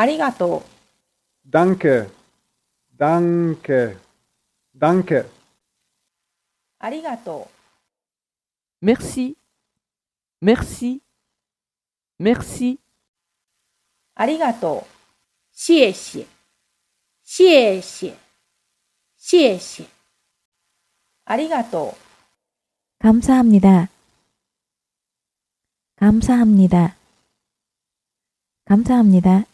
ありがとう。 Danke, danke, danke. ありがとう。 Merci, merci, merci. ありがとう。 谢谢，谢谢，谢谢。 ありがとう。 감사합니다. 감사합니다. 감사합니다.